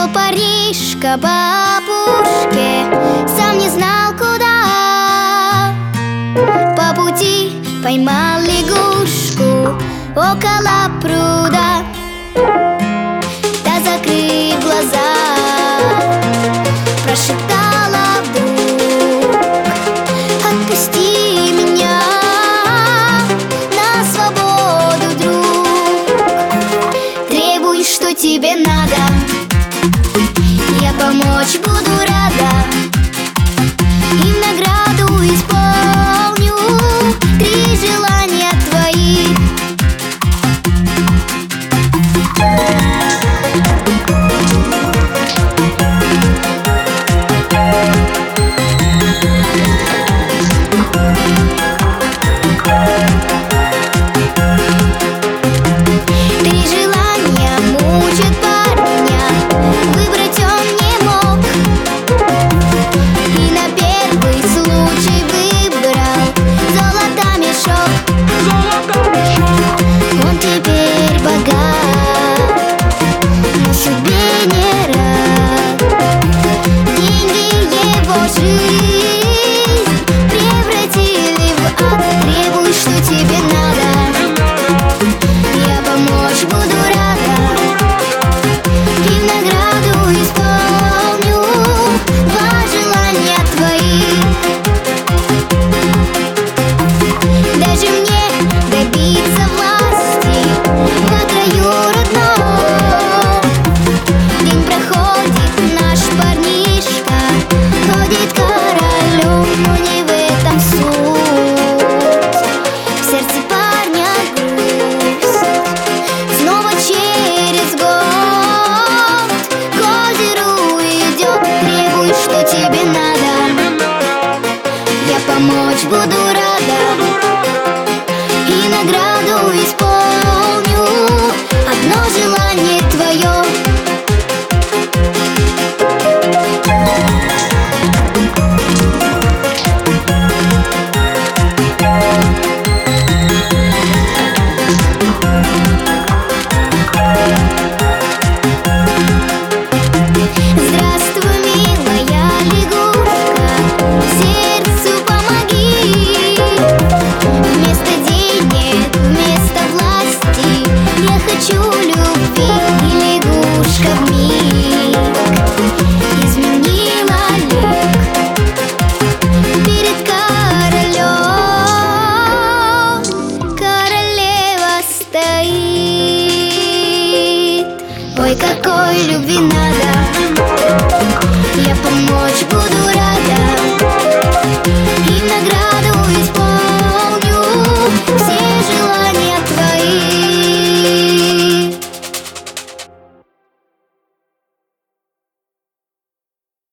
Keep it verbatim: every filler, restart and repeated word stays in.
Пошел Париж к бабушке, сам не знал куда. По пути поймал лягушку около пруда. Да, закрыв глаза, прошептала вдруг: отпусти меня на свободу, друг. Требуй, что тебе надо, я помочь буду рада, и в награду исполню три желания твоих. Три желания мучат парня, выбрать он не мог, и на первый случай выбрал золото мешок. Он теперь богат, но судьбе не рад. Деньги его жизнь превратили в ад. Требуй, что тебе надо, я помочь буду рада, и в награду исполню два желания твоих. Даже мне добиться власти по краю родном. День проходит, наш парнишка ходит королем, но не в этом суть. В сердце парня грусть. Снова через год к озеру идет. Требуй, что тебе надо, я помочь буду рада, и награду исполню одно желание твое. Здравствуй, милая лягушка, сердцу помоги. Вместо денег, вместо власти я хочу любви. И лягушка вмиг изменила лик перед королем. Королева стоит. Ой, какой любви надо, я помочь буду